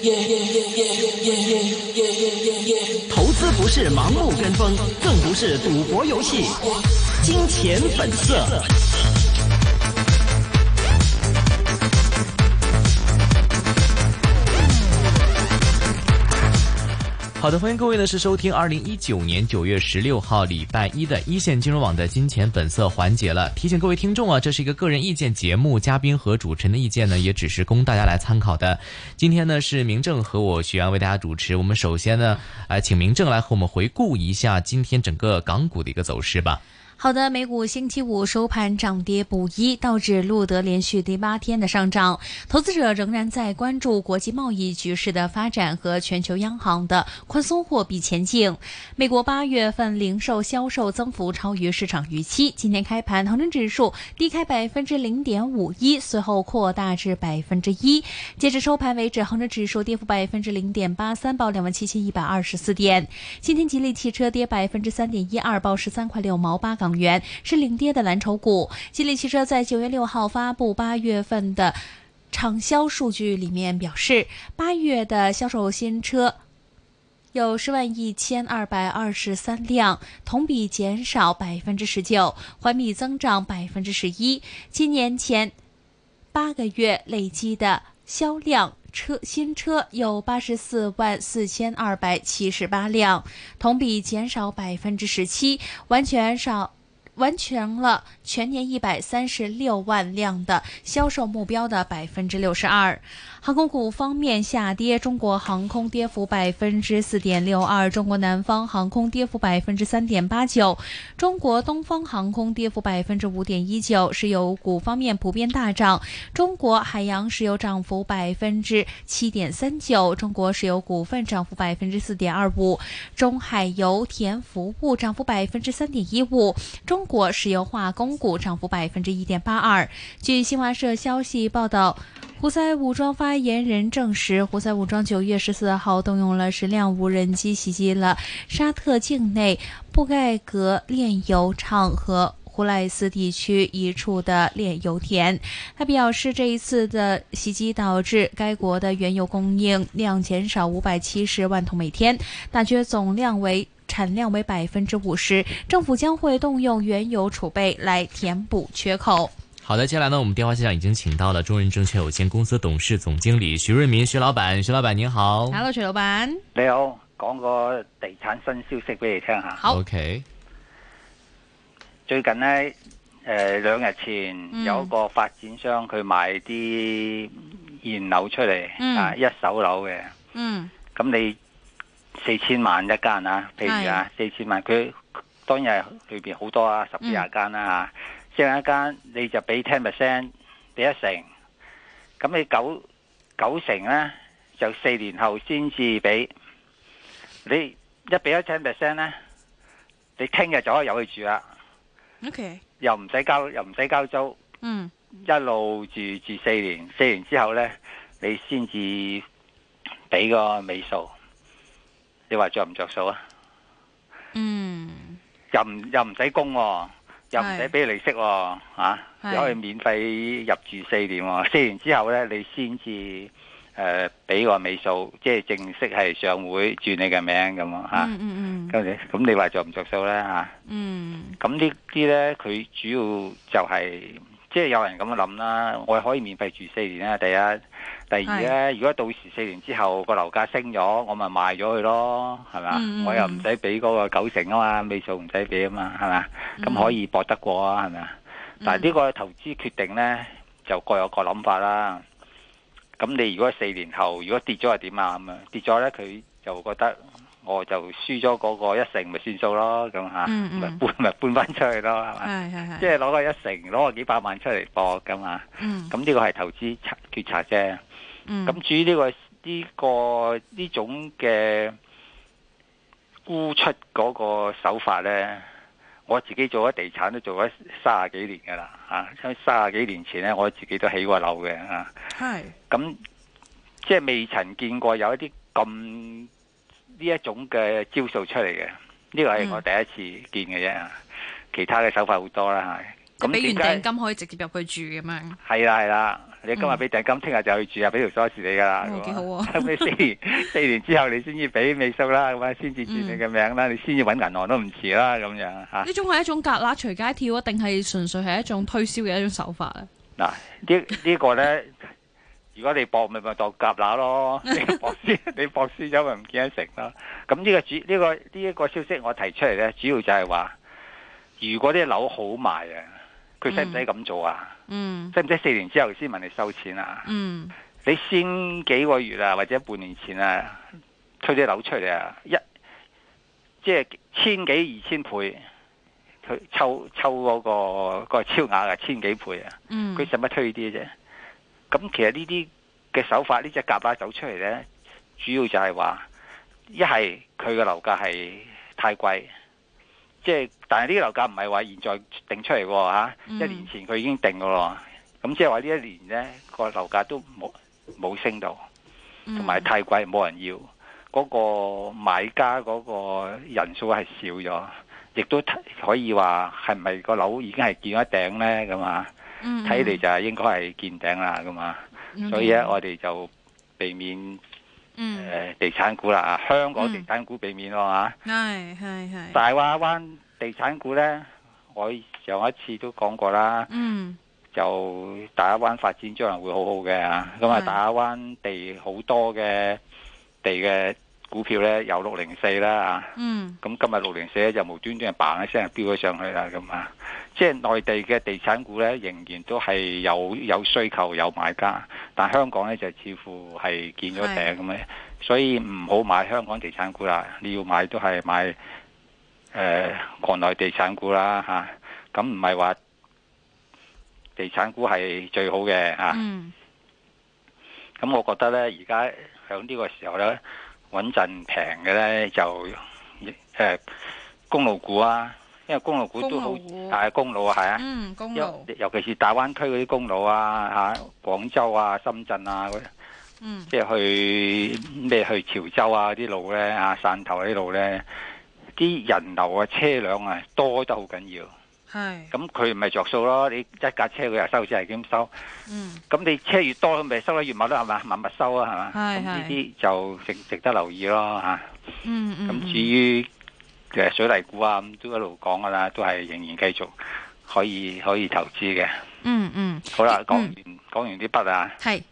投资不是盲目跟风，更不是赌博游戏。金钱本色。好的，欢迎各位呢是收听2019年9月16号礼拜一的一线金融网的金钱本色环节了。提醒各位听众啊，这是一个个人意见节目，嘉宾和主持人的意见呢也只是供大家来参考的。今天呢是明正和我徐阳为大家主持。我们首先呢请明正来和我们回顾一下今天整个港股的一个走势吧。 好的，美股星期五收盘涨跌不一，道指录得连续第8天的上涨。投资者仍然在关注国际贸易局势的发展和全球央行的宽松货币前景。美国8月份零售销售增幅超于市场预期，今天开盘恒生指数低开0.51%，随后扩大至1%。截至收盘为止，恒生指数跌幅0.83%，报27124点。今天吉利汽车跌3.12%，报13块6毛8港元，是领跌的蓝筹股。吉利汽车在9月6号发布8月份的畅销数据里面表示，8月的销售新车有10.1223万辆，同比减少19%，环比增长11%。今年前8个月累计的销量新车有844278辆，同比减少17%，完成了全年136万辆的销售目标的62%。航空股方面下跌，中国航空跌幅4.62%，中国南方航空跌幅3.89%，中国东方航空跌幅5.19%。石油股方面普遍大涨，中国海洋石油涨幅7.39%，中国石油股份涨幅4.25%，中海油田服务涨幅3.15%，中国石油化工股涨幅1.82%。据新华社消息报道，胡塞武装发言人证实，胡塞武装9月14号动用了10辆无人机袭击了沙特境内布盖格炼油厂和胡赖斯地区一处的炼油田。他表示，这一次的袭击导致该国的原油供应量减少570万桶每天，大约产量为50%，政府将会动用原油储备来填补缺口。 好的，接下来呢，我们电话线上已经请到了中润证券有限公司董事总经理徐润民，徐老板。徐老板您好。 Hello， 徐老板你好，講個地產新消息俾你聽下。 好 OK。 最近呢2日前有一個發展商佢賣啲現樓出嚟，一手樓嘅，咁你4000萬一間啊，譬如4000萬，佢當然係裏邊好多啊，10幾廿間啦嚇，即係一間你就俾 10%， 俾1成，咁你九成呢，就4年後先至俾，你一俾咗 10% 呢，你聽日就可以有去住啦。 OK， 又唔使交租，一路住4年，4年之後呢，你先至俾個尾數，你話着唔着數啊？又唔使供喎，又唔使俾利息喎，你可以免費入住4年喎，4年之後呢，你先至俾個尾數，即係正式係上會轉你嘅名咁啊咁你話着唔着數呢嚇？咁呢啲呢，佢主要就係即係有人咁樣諗啦，我可以免費住4年啦。第一，第二呢，如果到時4年之後個樓價升咗，我咪賣咗佢咯，係咪？我又唔使俾嗰個9成啊嘛，尾數唔使俾啊嘛，係咪？咁可以搏得過啊，係咪？但係呢個投資決定呢，就各有各諗法啦。咁你如果4年後如果跌咗係點啊？咁啊跌咗呢，佢就覺得我就輸咗嗰個1成咪算數咯，咁嚇，咪搬翻出去咯，係咪？即係攞個1成，攞個幾百萬出嚟搏咁啊！咁呢個係投資決策啫。咁至於呢種嘅沽出嗰個手法呢，我自己做咗地產都做咗30幾年㗎啦嚇，30幾年前呢，我自己都起過樓嘅嚇。咁即係未曾見過有一啲咁呢一種嘅招數出嚟嘅，呢個係我第一次見嘅啫。其他嘅手法好多啦嚇。 咁俾完訂金可以直接入去住咁樣。 係啦， 你今日俾訂金，聽日就去住啊，俾條鎖匙你噶啦。 幾好啊！ 咁你4年之後你先至俾尾數啦，咁啊先至轉你嘅名啦，你先至揾銀行都唔遲啦，咁樣嚇。 呢種係一種蛤乸隨街跳啊，定係純粹係一種推銷嘅一種手法咧？ 嗱，呢個咧，如果你搏咪當蛤乸咯，你搏輸咗咪唔見得成咯。咁呢一個消息我提出嚟咧，主要就係話，如果啲樓好賣啊，佢使唔使咁做啊？使唔使4年之後先問你收錢啊？你先幾個月啊，或者半年前啊，推啲樓出嚟啊，即係1000幾2000倍，佢抽嗰個超額啊，1000幾倍啊，佢使乜推啲啫？咁其實呢啲嘅手法，呢隻蛤乸走出嚟呢，主要就係話，一係佢嘅樓價係太貴。即係，但係呢啲樓價唔係話現在定出嚟喎嚇，1年前佢已經定嘅咯。咁即係話呢一年呢個樓價都冇升到，同埋太貴冇人要，嗰個買家嗰個人數係少咗，亦都可以話係咪個樓已經係見咗頂呢？咁啊？睇嚟就係應該係見頂啦咁啊。所以咧我哋就避免。地產股啦，香港地產股避免咯嚇。係。大亞灣地產股呢，我上一次都講過啦。就大亞灣發展將來會好好嘅嚇。咁啊，大亞灣地好多嘅地嘅股票呢，有604啦嚇。咁今日604咧就無端端嘭一聲飆咗上去啦咁啊。即係內地嘅地產股呢，仍然都係有需求有買家，但香港呢，就似乎係見咗頂咁嘅，所以唔好買香港地產股啦。你要買都係買國內地產股啦嚇。咁唔係話地產股係最好嘅嚇。咁我覺得呢，而家響呢個時候呢，穩陣平嘅呢，就公路股啊。因為公路股都好，係公路啊，係啊，公路，尤其是大灣區嗰啲公路啊，廣州啊、深圳啊嗰啲，即係去潮州啊啲路咧，汕頭啲路咧，啲人流啊、車輛啊多得好緊要。係，咁佢唔係着數咯，你一架車佢又收錢係點收？咁你車越多，咪收得越密咯，係嘛？密密收啊，係嘛？咁呢啲就值得留意咯，嚇。咁至於水泥股啊，咁都一路講噶啦，都係仍然繼續可以投資嘅。好啦，講完啲筆啊。係。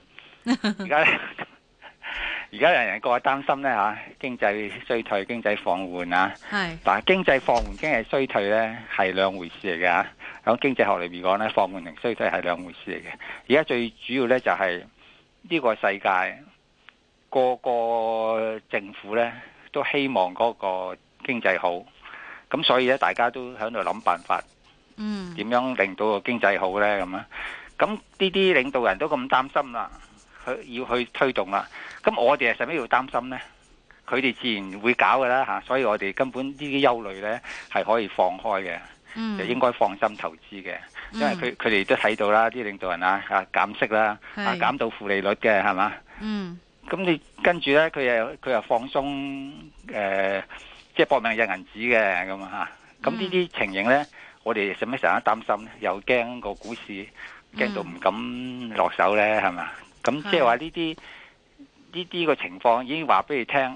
而家人人個個擔心咧嚇，經濟衰退、經濟放緩啊。係。但係經濟放緩、經濟衰退咧係兩回事嚟嘅嚇。喺經濟學裏面講咧，放緩同衰退係兩回事嚟嘅。而家最主要咧就係呢個世界個個政府咧都希望嗰個經濟好，咁所以咧大家都喺度諗辦法，點樣令到個經濟好呢？咁啊？咁呢啲領導人都咁擔心啦，佢要去推動啦，咁我哋係使乜要擔心呢？佢哋自然會搞噶啦嚇，所以我哋根本呢啲憂慮呢係可以放開嘅，就應該放心投資嘅，因為佢哋都睇到啦，啲領導人啊減息啦，減到負利率嘅係嘛？咁你跟住呢，佢又放鬆即係搏命印銀紙嘅咁啊！咁呢啲情形呢，我哋使乜成日擔心呢？又驚個股市驚到唔敢落手呢？係嘛？咁即係話呢啲個情況已經話俾你聽，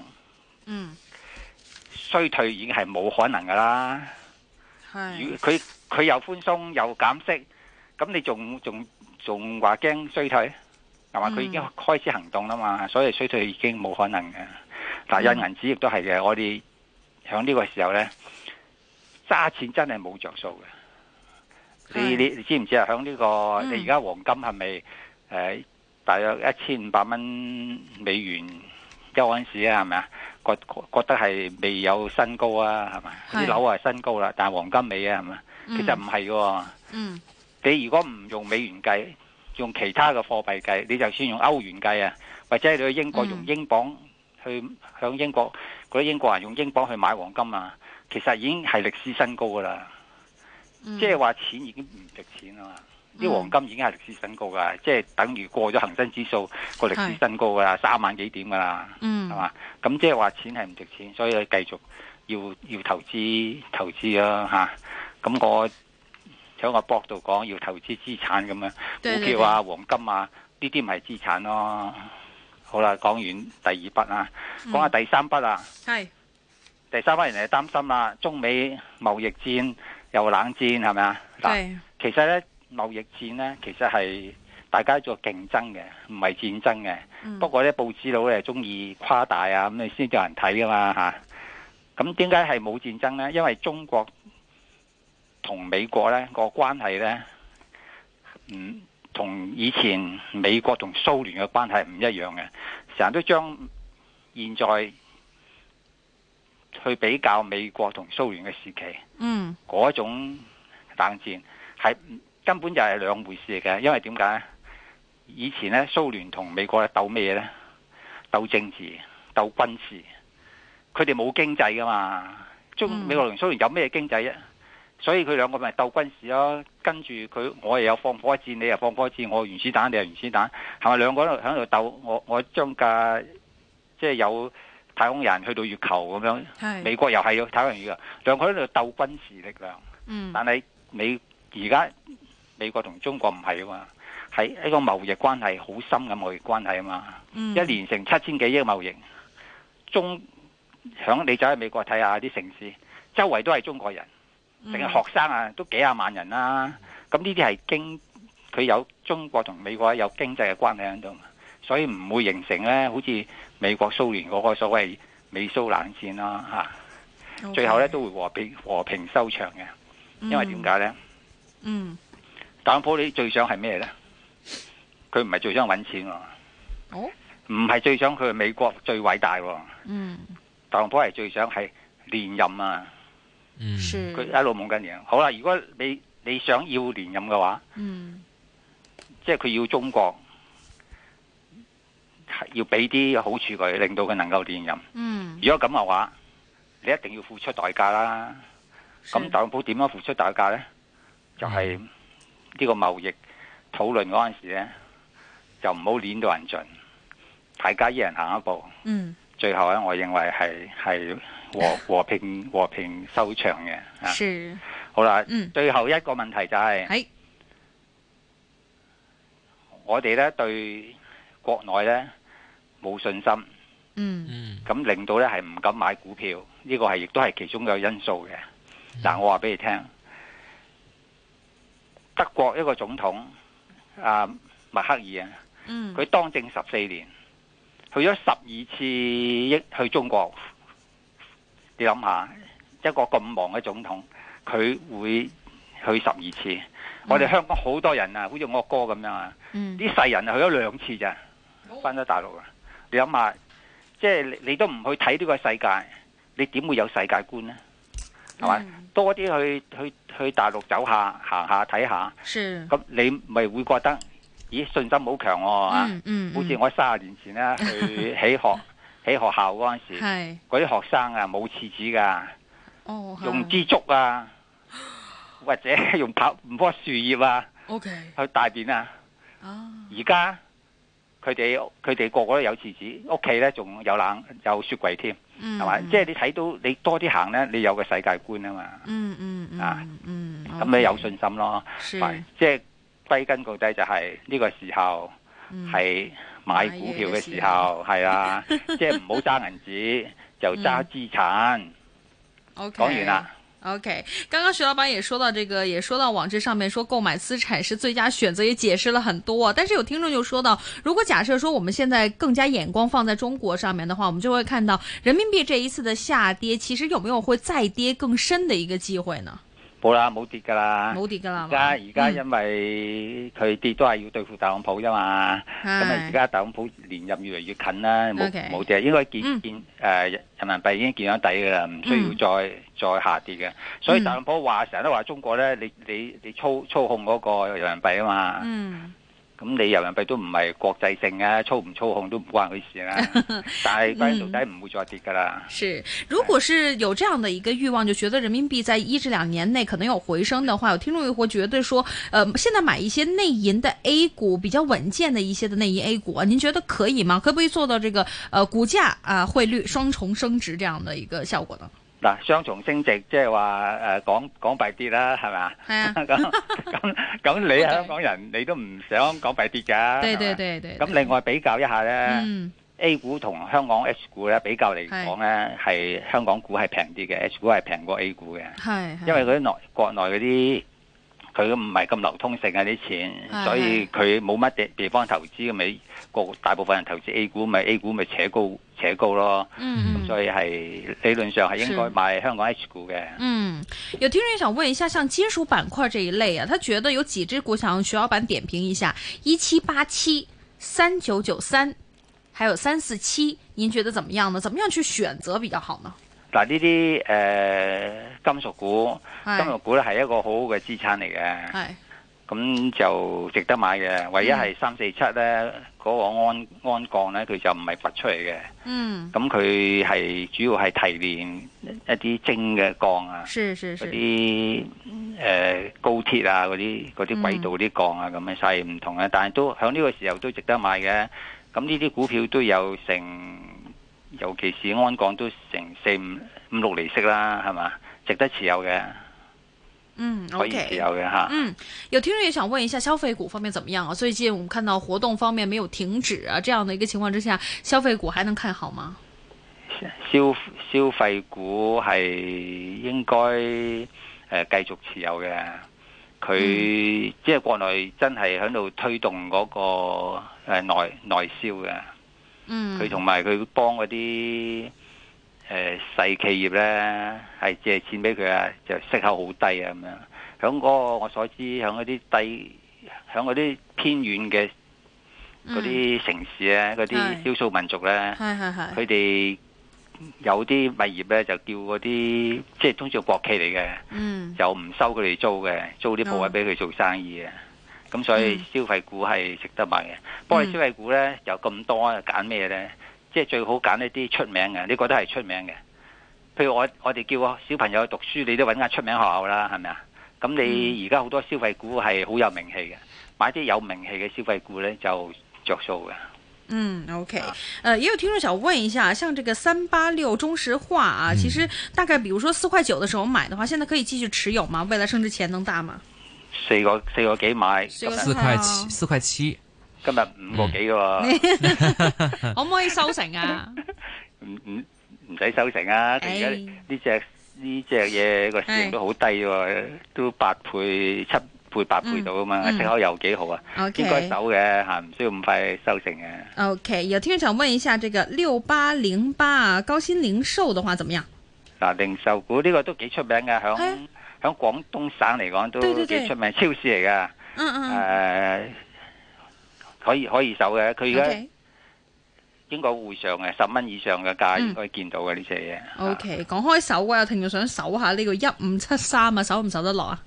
衰退已經係冇可能噶啦。佢又寬鬆又減息，咁你仲話驚衰退？係嘛？佢已經開始行動啦嘛，所以衰退已經冇可能嘅。但係印銀紙亦都係嘅，我哋響呢個時候呢，揸錢真係冇着數嘅。你知唔知啊？響呢個你而家黃金係咪大約1500蚊美元一盎司啊？係咪啊？覺得係未有新高啊？係咪？啲樓係新高啦，但係黃金未啊？係咪？其實唔係嘅。你如果唔用美元計，用其他嘅貨幣計，你就算用歐元計啊，或者你去英國用英鎊去向英國嗰啲英國人用英鎊去買黃金啊，其實已經係歷史新高噶啦。即係話錢已經唔值錢啊嘛，啲黃金已經係歷史新高噶，即係等於過咗恒生指數個歷史新高噶啦，3萬幾點噶啦，係嘛？咁即係話錢係唔值錢，所以你繼續要投資啦嚇。咁我喺個博度講要投資資產咁樣，股票啊、黃金啊， 呢啲咪資產咯。好啦，講完第二筆啦，講下第三筆啦。 係第三筆人哋擔心啦，中美貿易戰又冷戰係咪啊？嗱，其實咧貿易戰咧其實係大家做競爭嘅，唔係戰爭嘅。不過咧報紙佬咧中意誇大啊，咁你先有人睇噶嘛嚇。咁點解係冇戰爭咧？因為中國同美國咧個關係咧，同以前美國同蘇聯嘅關係唔一樣嘅，成日都將現在去比較美國同蘇聯嘅時期，嗰種冷戰係根本就係兩回事嚟嘅。因為點解？以前咧蘇聯同美國咧鬥咩嘢咧？鬥政治、鬥軍事，佢哋冇經濟噶嘛。美國同蘇聯有咩經濟啫？所以佢兩個咪鬥軍事咯。跟住我又有放火箭，你又放火箭，我原子彈，你又原子彈，係咪兩個喺度鬥？我將架即係有太空人去到月球咁樣，美國又係要太空人月球，兩個喺度鬥軍事力量。但係而家美國同中國唔係啊嘛，係一個貿易關係好深嘅貿易關係啊嘛。一年成7000幾億貿易，你走去美國睇下啲城市，周圍都係中國人。淨係學生啊，都幾廿萬人啦。咁呢啲係佢有中國同美國有經濟嘅關係喺度，所以唔會形成咧，好似美國蘇聯嗰個所謂美蘇冷戰啦嚇。最後咧都會和平收場嘅，因為點解咧？特朗普你最想係咩咧？佢唔係最想揾錢喎，唔係最想佢係美國最偉大喎。特朗普係最想係連任啊！佢一路夢緊嘢。好啦，如果你想要連任嘅話，即係佢要中國要俾啲好處佢，令到佢能夠連任。如果咁嘅話，你一定要付出代價啦。咁特朗普點樣付出代價呢？就係呢個貿易討論嗰陣時呢，就唔好攆到人盡，大家一人行一步。最後咧，我認為係和平收場嘅。 是好啦，最後一個問題就係，我哋咧對國內咧冇信心，咁令到咧係唔敢買股票，呢個係亦都係其中一個因素嘅。但我話俾你聽，德國一個總統默克爾啊，佢當政14年。去咗12次去中國，你諗下一個咁忙嘅總統，佢會去12次。我哋香港好多人啊，好似我哥咁樣啊，啲世人啊去咗2次咋，翻咗大陸啊。你諗下，即係你都唔去睇呢個世界，你點會有世界觀呢？係咪？多啲去大陸走下、行下、睇下，咁你咪會覺得。咦，信心好強喎！好似我30年前咧去起學校嗰陣時，嗰啲學生啊冇廁紙噶，用支竹啊，或者用唔棵樹葉啊，去大便啊。而家佢哋個個都有廁紙，屋企咧仲有雪櫃添，係咪？即係你睇到你多啲行咧，你有個世界觀啊嘛。咁你有信心咯，即係。歸根究底就係呢個時候係買股票嘅時候，係啊，即係唔好揸銀紙，就揸資產。講完啦。 OK， 剛剛徐老闆也說到這個，也說到網誌上面說購買資產是最佳選擇，也解釋了很多。但是有聽眾就說到，如果假設說我們現在更加眼光放在中國上面的話，我們就會看到人民幣這一次的下跌，其實有沒有會再跌更深的一個機會呢？ 冇啦，冇跌噶啦， 冇跌噶啦。 而家因為佢跌都係要對付特朗普啫嘛。咁啊，而家特朗普連任越嚟越近啦，冇跌，應該見人民幣已經見咗底噶啦，唔需要再下跌嘅。所以特朗普成日都話中國咧，你操控嗰個人民幣啊嘛。咁你人民幣都唔係國際性嘅，操唔操控都唔關佢事啦。但係關鍵到底唔會再跌噶啦。 是，如果是有這樣的一個慾望，就覺得人民幣在1至2年內可能有回升的話，有聽眾又會覺得說，現在買一些內銀的 A 股比較穩健的一些的內銀 A 股，您覺得可以嗎？可不可以做到這個股價匯率雙重升值這樣的一個效果呢？ 嗱，雙重升值即係話港幣跌啦，係咪啊？ 係啊。 咁你香港人你都唔想港幣跌㗎。 對對對對。 咁另外比較一下咧，A 股同香港 H 股咧比較嚟講咧，係香港股係平啲嘅，H 股係平過 A 股嘅。係。因為嗰啲國內嗰啲佢唔係咁流通性啊啲錢，所以佢冇乜地方投資，咪大部分人投資 A 股，咪 A 股咪扯高咯。咁所以係理論上係應該買香港 H 股嘅。 有聽眾想問一下，像金屬板塊這一類啊，他覺得有幾隻股想徐老闆點評一下，1787、3993，還有347，您覺得怎麼樣呢？怎麼樣去選擇比較好呢？ 嗱，呢啲金屬股咧係一個好好嘅資產嚟嘅，咁就值得買嘅。唯一係347咧，嗰個鞍鋼咧，佢就唔係拔出嚟嘅。咁佢係主要係提煉一啲精嘅鋼啊，嗰啲高鐵啊，嗰啲軌道啲鋼啊，咁嘅細唔同嘅，但係都喺呢個時候都值得買嘅。咁呢啲股票都有成，尤其是鞍鋼都成4、5、6厘息啦，係嘛？值得持有嘅。可以持有嘅吓。 有聽眾也想問一下消費股方面怎麼樣啊？最近我們看到活動方面沒有停止啊，這樣的一個情況之下，消費股還能看好嗎？ 消費股係應該繼續持有嘅。佢即係國內真係喺度推動嗰個內銷嘅。佢同埋佢幫嗰啲細企業咧係借錢俾佢啊，就息口好低啊咁樣。響嗰個我所知，響嗰啲偏遠嘅嗰啲城市咧，嗰啲少數民族咧，佢哋有啲物業咧就叫嗰啲即係通常國企嚟嘅，就唔收佢哋租嘅，租啲鋪位俾佢做生意嘅。咁所以消費股係值得買嘅。不過消費股咧有咁多，揀咩咧？即係最好揀一啲出名嘅，你覺得係出名嘅。譬如我哋叫個小朋友去讀書，你都揾間出名學校啦，係咪啊？咁你而家好多消費股係好有名氣嘅，買啲有名氣嘅消費股咧就着數嘅。 OK，也有聽眾想問一下，像這個386中石化啊，其實大概，比如說4.9塊的時候買的話，現在可以繼續持有嗎？未來升值潛能大嗎 ？4個幾買 ？4.7， 今日5個幾喎， 可唔可以收成啊？ 唔使收成啊！而家呢隻嘢個市盈都好低喎，都8倍、7倍、8倍到啊嘛，息口又幾好啊，應該走嘅嚇，唔需要咁快收成嘅。 OK，有聽眾想問一下，這個6808高鑫零售的話，怎麼樣？ 嗱，零售股呢個都幾出名嘅，響廣東省嚟講都幾出名，超市嚟嘅。可以守嘅，佢而家應該會上嘅10蚊以上嘅價應該見到嘅呢隻嘢。 OK，講開守啊，有聽眾想守下呢個1573啊，守唔守得落啊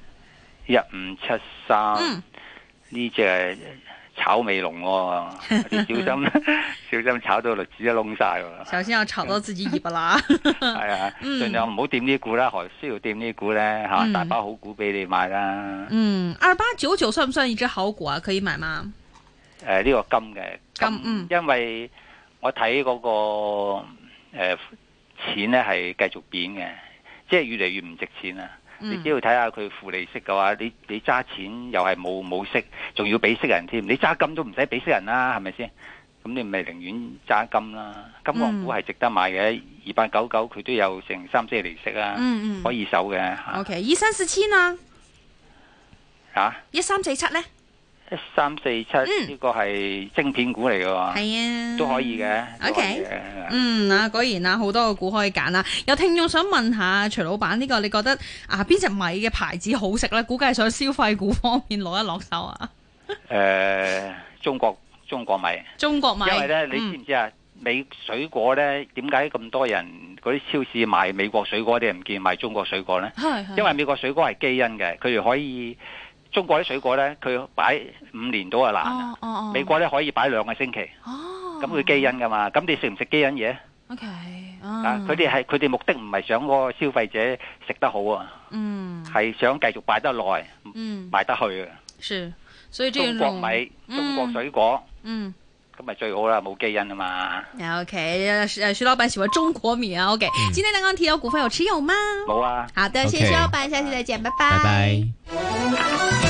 ？1573呢隻係炒尾龍喎，小心炒到栗子都窿晒喎。 小心要炒到自己尾巴啦。 係啊，盡量唔好掂呢股啦，何需要掂呢股咧？嚇，大把好股俾你買啦。 2899算唔算一隻好股啊？可以買嗎？ 呢個金嘅，因為我睇嗰個錢咧係繼續貶嘅，即係越嚟越唔值錢啊！你只要睇下佢負利息嘅話，你揸錢又係冇息，仲要俾息人添。你揸金都唔使俾息人啦，係咪先？咁你咪寧願揸金啦。金礦股係值得買嘅，2899佢都有成3-4厘息啊，可以守嘅。 OK，1347呢？1347咧 ？1347呢個係晶片股嚟嘅喎， 係啊， 都可以嘅。 OK，果然啊，好多個股可以揀啦。有聽眾想問下徐老闆，呢個你覺得啊邊隻米嘅牌子好食咧？估計想消費股方面攞一落手啊。 中國米。中國米，因為咧，你知唔知啊？美水果咧，點解咁多人嗰啲超市賣美國水果，啲人唔見賣中國水果咧？因為美國水果係基因嘅，佢哋可以。中國啲水果咧，佢擺5年到就爛。美國咧可以擺2個星期。咁佢基因噶嘛？咁你食唔食基因嘢？OK。佢哋目的唔係想嗰個消費者食得好啊。係想繼續擺得耐。賣得去嘅。 是，所以中國米、中國水果。 咁咪最好啦，冇基因啊嘛。 OK， 徐老闆喜歡中國米啊。OK，今天剛剛提到股份有持有嗎？ 冇啊。 好的，謝謝徐老闆，下期再見，拜拜。 拜拜。